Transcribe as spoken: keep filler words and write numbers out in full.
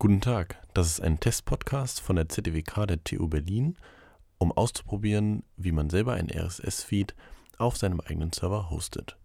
Guten Tag, das ist ein Testpodcast von der Z D W K der T U Berlin, um auszuprobieren, wie man selber einen R S S-Feed auf seinem eigenen Server hostet.